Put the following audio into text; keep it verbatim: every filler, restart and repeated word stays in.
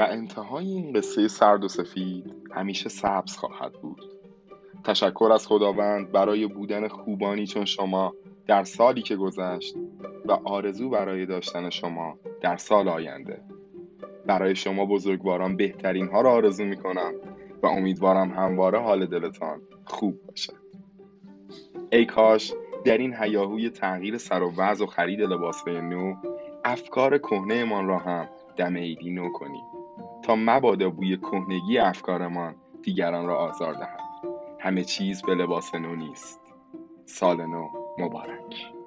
و انتهای این قصه سرد و سفید همیشه سبز خواهد بود. تشکر از خداوند برای بودن خوبانی چون شما در سالی که گذشت و آرزو برای داشتن شما در سال آینده. برای شما بزرگواران بهترین ها را آرزو می کنم و امیدوارم همواره حال دلتان خوب باشد. ای کاش در این هیاهوی تغییر سر و وضع و خرید لباسهای نو افکار کهنه‌مان را هم دم عیدی نو کنیم تا مبادا بوی کهنگی افکارمان دیگران را آزار دهد. همه چیز به لباس نو نیست. سال نو مبارک.